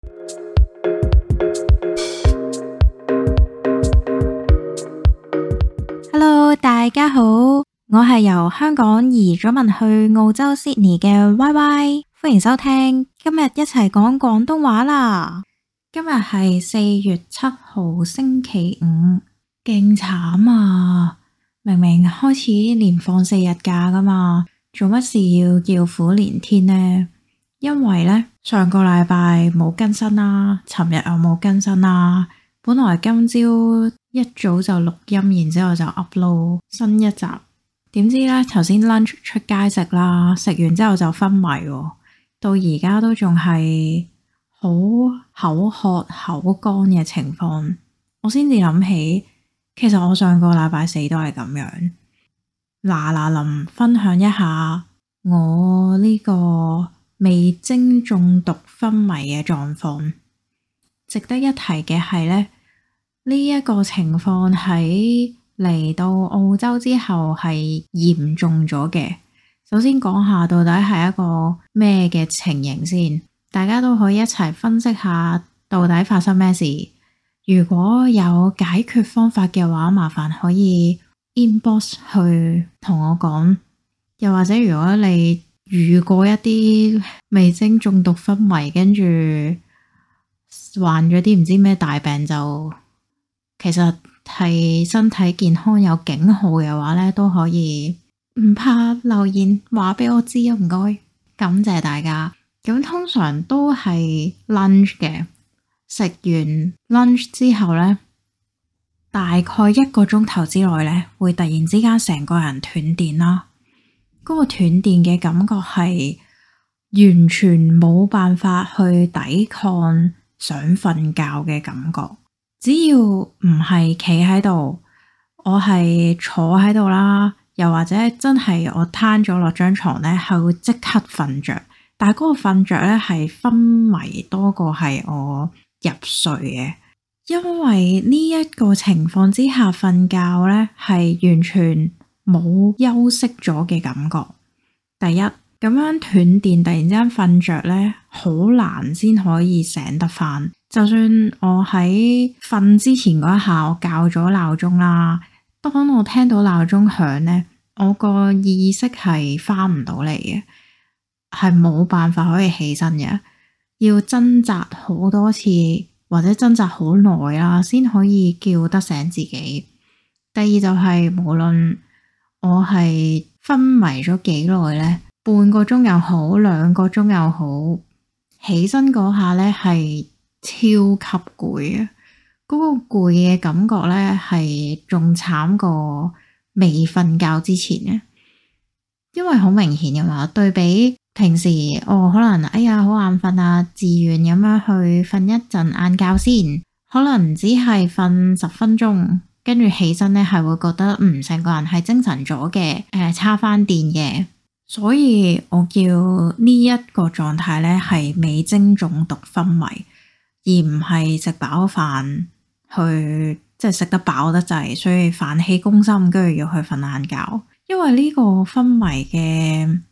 Hello， 大家好，我係由香港移咗民去澳洲 Sydney 嘅 YY， 歡迎收聽，今日一齊講廣東話啦。今日係4月7號星期五，勁慘啊！明明開始連放4日假噶嘛，做乜事要叫苦連天呢？因為呢，上個禮拜冇更新啦，尋日又冇更新啦。本來今朝一早就錄音，然之後就 upload 新一集，點知呢，頭先 lunch 出街食啦，食完之後就昏迷喎，到而家都仲係好口渴口乾嘅情況。我先至諗起，其實我上個禮拜4都係咁樣。嗱臨分享一下我呢個味精中毒昏迷嘅狀況。值得一提嘅係呢，呢一個情況喺嚟到澳洲之後係嚴重咗嘅。首先講下到底係一個咩嘅情形先，大家都可以一齊分析下到底發生咩事。如果有解決方法嘅話，麻煩可以 inbox 去同我講。又或者如果你遇過一啲味精中毒昏迷，跟住患咗啲唔知咩大病，就其實係身體健康有警號嘅話呢，都可以唔怕留言話俾我知啊，唔該，感謝大家。咁通常都係 lunch 嘅，食完 lunch 之後呢，大概1個鐘頭之內呢，會突然之間成個人斷電啦。嗰個斷電嘅感覺係完全冇辦法去抵抗想瞓覺嘅感覺，只要唔係企喺度，我係坐喺度啦，又或者真係我攤咗落張床呢，係會即刻瞓着。但係嗰個瞓着呢，係昏迷多過係我入睡嘅，因為呢一個情況之下瞓覺呢，係完全冇休息咗嘅感覺。第一，咁樣斷電突然之間瞓着呢，好難先可以醒得翻。就算我喺瞓之前嗰一下，我校咗鬧鐘啦，當我聽到鬧鐘響呢，我個意識係翻唔到嚟嘅，係冇辦法可以起身嘅，要掙扎好多次或者掙扎好耐啦，先可以叫得醒自己。第二就係無論我係昏迷咗幾耐呢，半個鐘又好，2個鐘又好，起身嗰下呢係超級攰啊！嗰個攰嘅感覺呢係仲慘過未瞓覺之前嘅，因為好明顯噶嘛，對比平時可能哎呀好眼瞓啊，自願咁樣去瞓一陣晏覺先，可能只係瞓10分鐘，跟住起身呢係會覺得成個人係精神咗嘅，叉翻電嘅。所以我叫呢一個狀態呢係味精中毒昏迷，而唔係食飽飯去即係食得飽得滯，所以飯氣攻心，跟住要去瞓晏覺。因為呢個昏迷嘅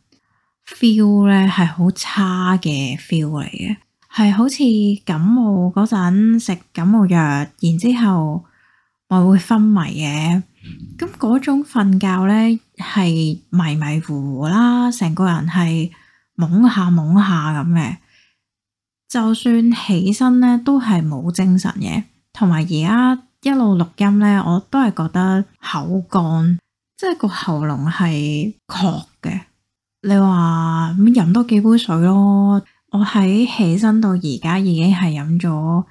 feel 呢係好差嘅 feel 嚟嘅，係好似感冒嗰陣食感冒藥，然之後咪會昏迷嘅。咁嗰種瞓覺呢係迷迷糊糊啦，成個人係懵下懵下咁嘅，就算起身呢都係冇精神嘅。同埋而家一路錄音呢，我都係覺得口乾，即係個喉嚨係渴嘅。你話咁飲多幾杯水咯，我喺起身到而家已經係飲咗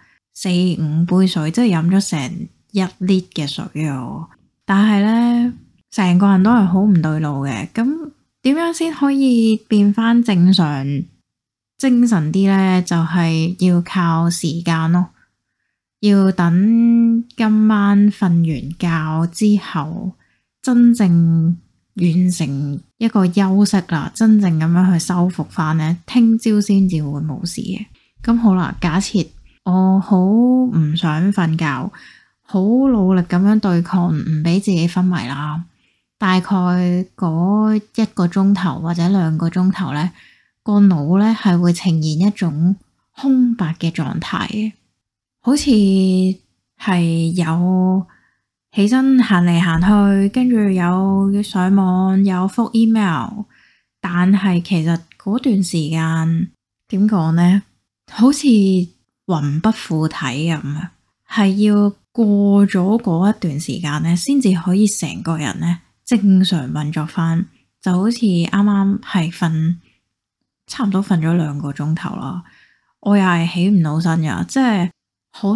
4-5杯水，即係飲咗成1 lit 嘅水啊！但係呢，成個人都係好唔對路嘅。咁點樣先可以變翻正常精神啲呢？就係要靠時間咯，要等今晚瞓完覺之後，真正完成一個休息啦，真正咁樣去修復翻呢，聽朝先至會冇事嘅。咁好啦，假設我好唔想瞓覺，好努力咁樣對抗，唔俾自己昏迷啦。大概嗰1個鐘頭或者2個鐘頭呢，個腦呢係會呈現一種空白嘅狀態，好似係有起身行嚟行去，跟住有上網，有覆 email，但係其實嗰段時間點講呢？好似魂不附體咁啊，係要過咗嗰一段時間呢，先至可以成個人呢正常運作翻，就好似啱啱係瞓，差唔多瞓咗2個鐘頭啦。我又係起唔到身噶，即係好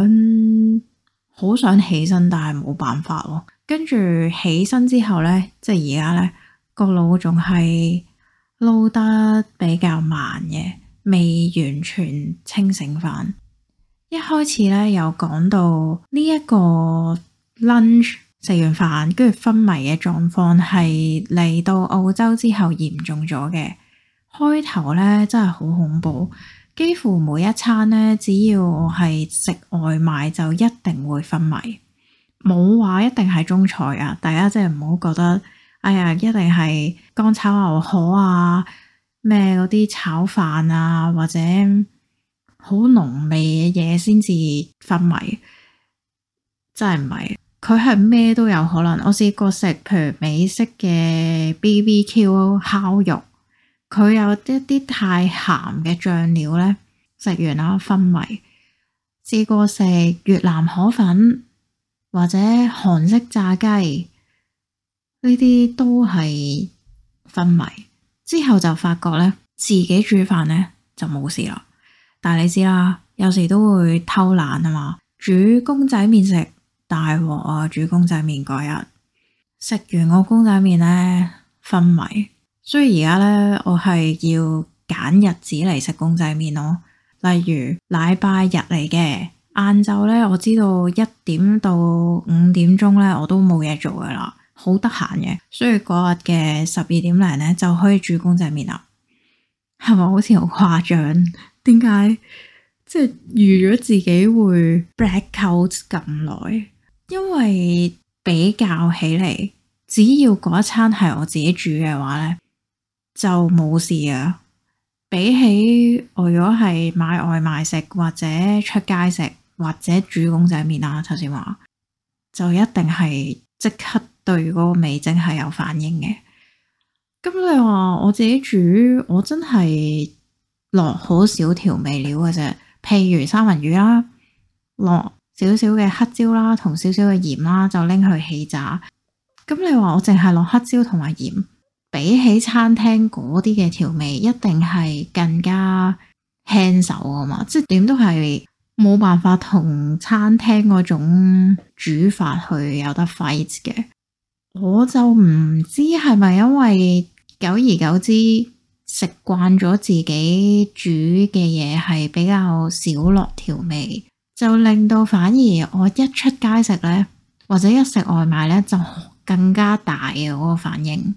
想起身，但係冇辦法咯。跟住起身之後呢，即係而家呢個腦仲係撈得比較慢嘅，未完全清醒翻。一開始呢，有講到呢一個 lunch 食完飯跟住昏迷嘅狀況係嚟到澳洲之後嚴重咗嘅。開頭呢真係好恐怖。幾乎每一餐呢，只要我係食外賣就一定會昏迷，冇話一定係中菜啊！大家真係唔好覺得，哎呀，一定係乾炒牛河啊，咩嗰啲炒飯啊，或者好濃味嘅嘢先至昏迷，真係唔係，佢係咩都有可能。我試過食，譬如美式嘅 BBQ 烤肉。佢有一啲太鹹嘅醬料呢，食完啦昏迷。試過食越南河粉或者韓式炸雞，呢啲都係昏迷。之後就發覺呢，自己煮飯呢就冇事啦。但係你知啦，有時都會偷懶啊嘛，煮公仔麵食大鑊啊！煮公仔麵嗰日食完個公仔麵呢，昏迷。所以而家呢，我係要揀日子嚟食公仔麵咯。例如禮拜日嚟嘅晏晝呢，我知道1點到5點鐘呢，我都冇嘢做噶啦，好得閒嘅。所以嗰日嘅12點零呢，就可以煮公仔麵啦。係咪好似好誇張？點解即係預咗自己會 blackout 咁耐？因為比較起嚟，只要嗰一餐係我自己煮嘅話呢，就冇事啊！比起我如果係買外賣食或者出街食或者煮公仔麵啦，頭先話就一定係即刻對嗰個味精係有反應嘅。咁你話我自己煮，我真係落好少調味料嘅啫，譬如三文魚啦，落少少嘅黑椒啦，同少少嘅鹽啦，就拎去氣炸。咁你話我淨係落黑椒同埋鹽，比起餐廳嗰啲嘅調味，一定係更加輕手啊嘛！即係點都係冇辦法同餐廳嗰種煮法去有得 fight 嘅。我就唔知係咪因為久而久之食慣咗自己煮嘅嘢係比較少落調味，就令到反而我一出街食呢，或者一食外賣呢，就更加大嘅嗰個反應。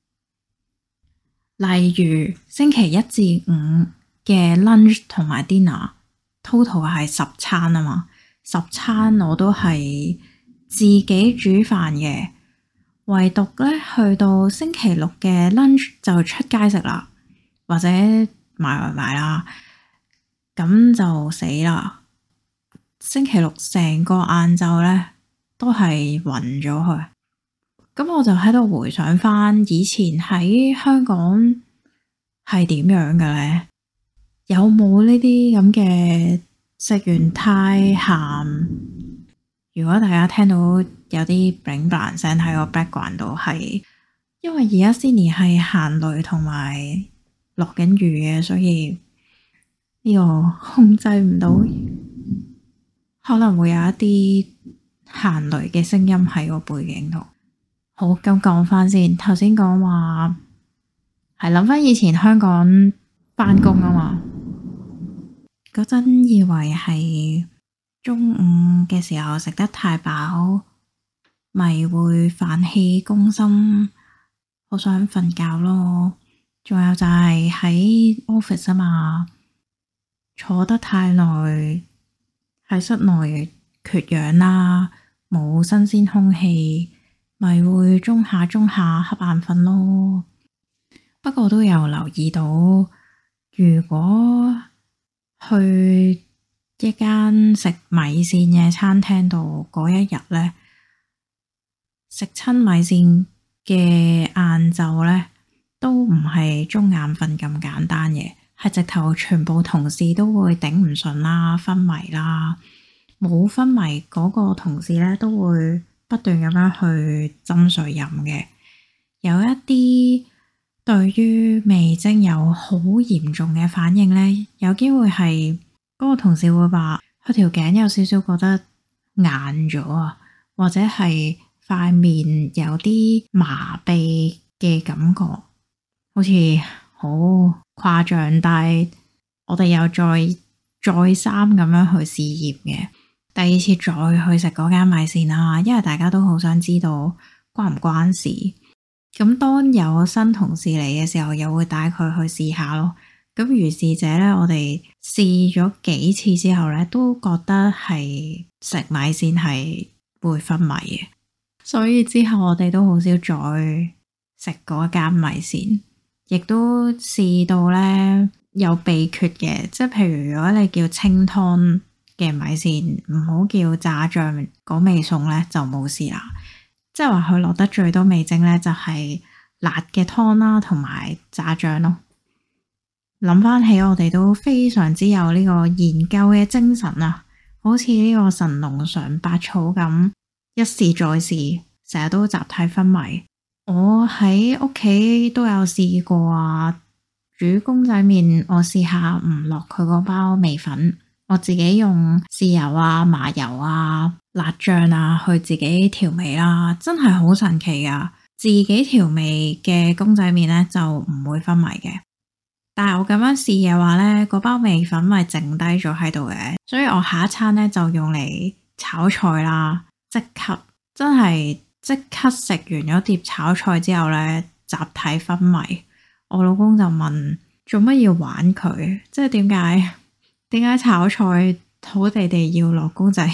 例如星期1至5嘅 lunch 同埋 dinner，total 係10餐啊嘛，10餐我都係自己煮飯嘅，唯獨咧去到星期6嘅 lunch 就出街食啦，或者買外賣啦，咁就死啦！星期6成個晏晝咧都係暈咗去。咁我就喺度回想翻以前喺香港係點樣嘅呢？有冇呢啲咁嘅食完太鹹？如果大家聽到有啲 bling bling 聲喺個 background 度，係因為而家 Sydney 係行雷同埋落緊雨嘅，所以呢個控制唔到，可能會有一啲行雷嘅聲音喺個背景度。好，咁講翻先，頭先講話係諗翻以前香港翻工啊嘛，嗰陣以為係中午嘅時候食得太飽，咪會飯氣攻心，好想瞓覺咯。仲有就係喺 office 啊嘛，坐得太耐，喺室內缺氧啦，冇新鮮空氣。咪會中下瞌眼瞓咯。不過都有留意到，如果去一間食米線嘅餐廳度嗰一日呢，食親米線嘅晏晝呢，都唔係中眼瞓咁簡單嘅，係直頭全部同事都會頂唔順啦，昏迷啦，冇昏迷嗰個同事呢，都會不斷咁樣去斟水飲嘅。有一啲對於味精有好嚴重嘅反應呢，有機會係嗰個同事會話佢條頸有少少覺得硬咗啊，或者係塊面有啲麻痹嘅感覺，好似好誇張。但係我哋又再三咁樣去試驗嘅，第二次再去食嗰間米線啦，因為大家都好想知道關唔關事。咁當有新同事嚟嘅時候，又會帶佢去試下咯。咁如是者呢，我哋試咗幾次之後呢，都覺得係食米線係會昏迷嘅，所以之後我哋都好少再食嗰間米線，亦都試到呢有秘訣嘅，即係譬如如果你叫清湯嘅米線，唔好叫炸醬嗰味餸呢，就冇事啦。即係話佢落得最多味精呢，就係辣嘅湯啦，同埋炸醬咯。諗翻起我哋都非常之有呢個研究嘅精神啊，好似呢個神農嘗百草咁，一試再試，成日都集體昏迷。我喺屋企都有試過啊，煮公仔麵，我試下唔落佢嗰包味粉，我自己用豉油啊、麻油啊、辣醬啊去自己調味啦，真係好神奇噶！自己調味嘅公仔麵呢，就唔會昏迷嘅，但係我咁樣試嘅話呢，嗰包味粉咪剩低咗喺度嘅，所以我下一餐呢，就用嚟炒菜啦，即刻食完咗碟炒菜之後呢，集體昏迷。我老公就問做乜要玩佢，即係點解炒菜好地地要落公仔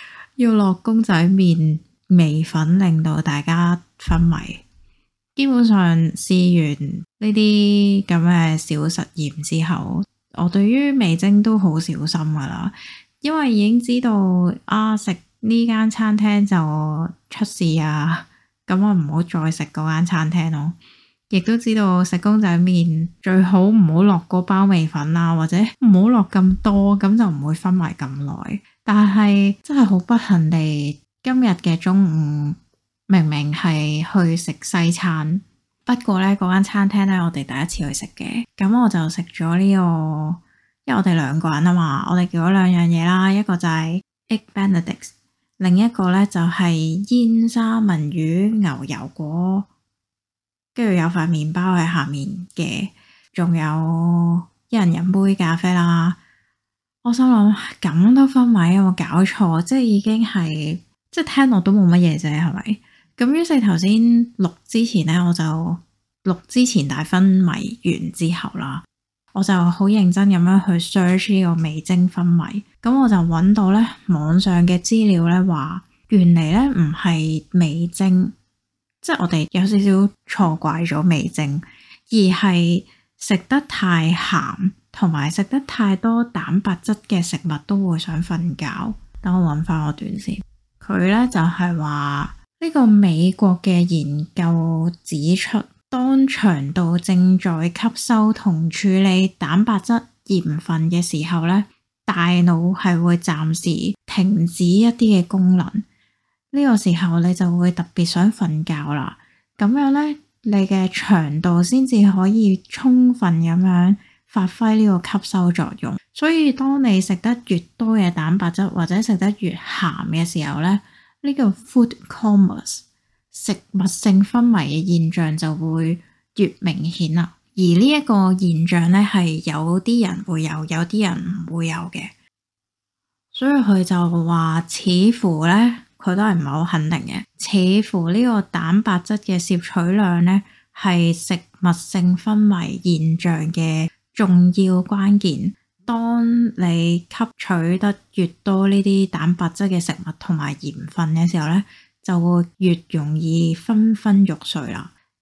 麵味粉，令到大家昏迷。基本上試完呢啲咁嘅小實驗之後，我對於味精都好小心噶啦，因為已經知道食呢間餐廳就出事啊，咁我唔好再食嗰間餐廳咯。亦都知道食公仔麵最好唔好落嗰包味粉啦，或者唔好落咁多，咁就唔會昏迷咁耐。但係真係好不幸地，今日嘅中午明明係去食西餐，不過呢嗰間餐廳呢，我哋第一次去食嘅，咁我就食咗呢個，因為我哋兩個人啊嘛，我哋叫咗兩樣嘢啦，一個就係 Egg Benedict， 另一個呢就係煙三文魚牛油果。跟住有塊麵包喺下面嘅，仲有一人飲杯咖啡啦。我心諗咁都昏迷，有冇搞錯？即係已經係即係聽落都冇乜嘢啫，係咪？咁於是頭先錄之前呢，我就錄之前大昏迷完之後啦，我就好認真咁樣去 search 呢個味精昏迷。咁我就揾到呢網上嘅資料呢，話原嚟呢唔係味精。即係我哋有少少錯怪咗味精，而係食得太鹹同埋食得太多蛋白質嘅食物都會想瞓覺。等我揾翻我段先，佢呢就係話呢個美國嘅研究指出，當腸道正在吸收同處理蛋白質鹽分嘅時候呢，大腦係會暫時停止一啲嘅功能。呢個時候你就會特別想瞓覺啦，咁樣呢，你嘅腸道先至可以充分咁樣發揮呢個吸收作用。所以當你食得越多嘅蛋白質或者食得越鹹嘅時候呢，呢個 food comas 食物性昏迷嘅現象就會越明顯啦。而呢一個現象呢，係有啲人會有，有啲人唔會有嘅。所以佢就話似乎呢，佢都係唔係好肯定嘅，似乎呢個蛋白質嘅攝取量呢，係食物性昏迷現象嘅重要關鍵。當你吸取得越多呢啲蛋白質嘅食物同埋鹽分嘅時候呢，就會越容易昏昏欲睡啦。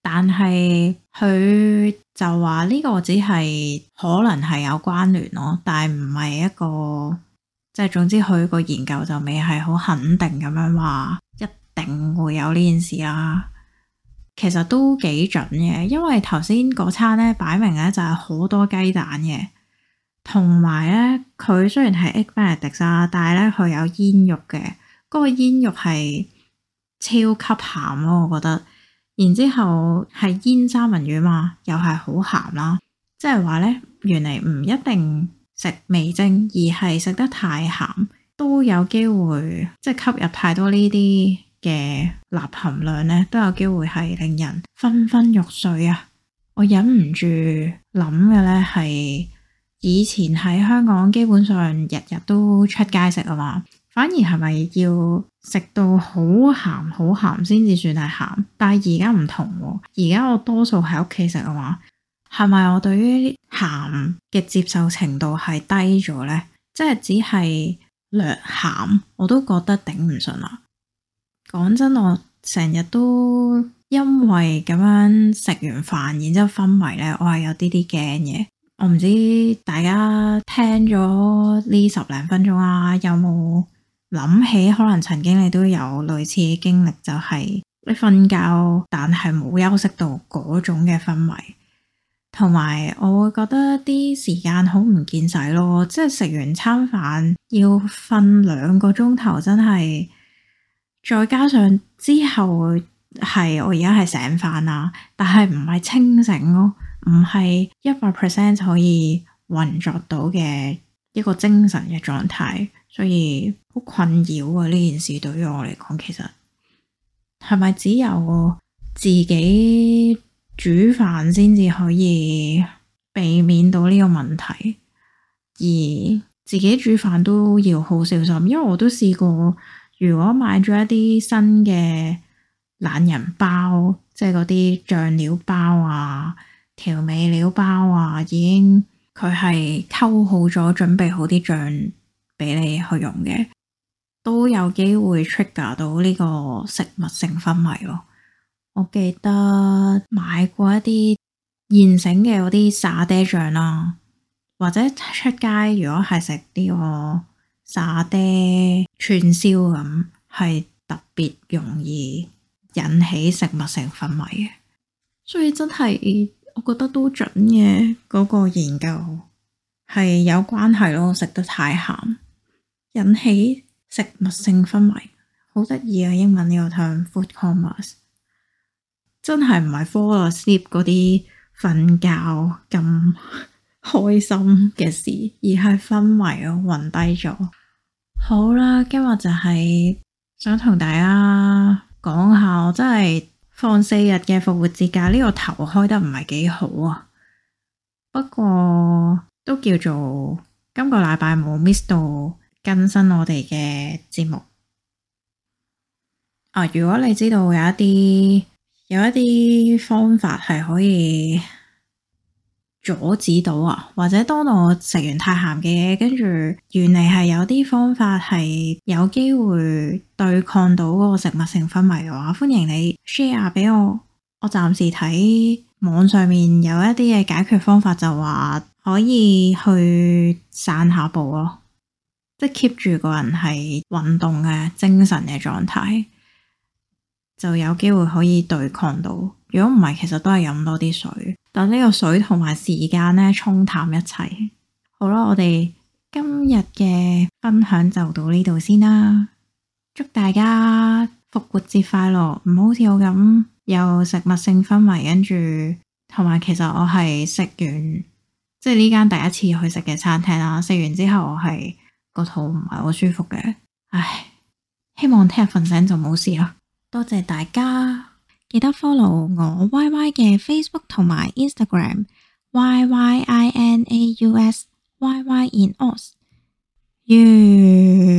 但係佢就話呢個只係可能係有關聯咯，但係唔係一個，即係總之佢個研究就未係好肯定咁樣話一定會有呢件事啦。其實都幾準嘅，因為頭先嗰餐咧擺明咧就係好多雞蛋嘅，同埋咧佢雖然係 egg benedict 啊，但係咧佢有煙肉嘅，嗰個煙肉係超級鹹咯，我覺得。然之後係煙三文魚嘛，又係好鹹啦，即係話咧原嚟唔一定食味精，而係食得太鹹都有機會，即係吸入太多呢啲嘅鈉含量咧，都有機會係令人昏昏欲睡啊！我忍唔住諗嘅咧係以前喺香港基本上日日都出街食啊嘛，反而係咪要食到好鹹先至算係鹹？但係而家唔同，而家我多數喺屋企食啊嘛，係咪我對於鹹嘅接受程度係低咗呢？即係只係略鹹我都覺得頂唔順啦。講真，我成日都因為咁樣食完飯然之後昏迷呢，我係有啲驚嘅。我唔知大家聽咗呢10零分鐘啊，有冇諗起可能曾經你都有類似嘅經歷，就係你瞓覺但係冇休息到嗰種嘅昏迷，同埋我會覺得啲時間好唔見使咯，即係食完餐飯要瞓2個鐘頭，真係。再加上之後係我而家係醒返啦，但係唔係清醒咯，唔係100% 可以運作到嘅一個精神嘅狀態，所以好困擾啊！呢件事對於我嚟講，其實係咪只有自己煮飯先至可以避免到呢個問題？而自己煮飯都要好小心，因為我都試過。如果買咗一啲新嘅懶人包，即係嗰啲醬料包啊、調味料包啊，已經佢係溝好咗，準備好啲醬俾你去用嘅，都有機會 trigger 到呢個食物性昏迷咯。我記得買過一啲現成嘅嗰啲沙爹醬啦，或者出街如果係食呢個沙爹串燒咁，係特別容易引起食物性昏迷嘅，所以真係我覺得都準嘅，嗰個研究係有關係咯。食得太鹹引起食物性昏迷，好得意啊！英文呢個 term food comas 真係唔係 fall asleep 嗰啲瞓覺咁開心嘅事，而係昏迷咯，暈低咗。好啦，今日就係想同大家講下，我真係放4日嘅復活節假，呢個頭開得唔係幾好啊。不過都叫做今個禮拜冇 miss 到更新我哋嘅節目啊。如果你知道有一啲方法係可以阻止到啊，或者當我食完太鹹嘅嘢，跟住原嚟係有啲方法係有機會對抗到嗰個食物性昏迷嘅話，歡迎你 share 俾我。我暫時睇網上面有一啲嘅解決方法，就話可以去散下步咯，即係 keep 住個人係運動嘅精神嘅狀態，就有機會可以對抗到。如果唔係，其實都係飲多啲水，等呢個水同埋時間咧沖淡一切。好啦，我哋今日嘅分享就到呢度先啦。祝大家復活節快樂，唔好似我咁有食物性昏迷，跟住同埋其實我係食完即係呢間第一次去食嘅餐廳啦，食完之後我係個肚唔係好舒服嘅。唉，希望聽日瞓醒就冇事啦。多謝大家。記得 follow 我 YY 嘅 Facebook 同埋 Instagram YYINAUS YY in Aus。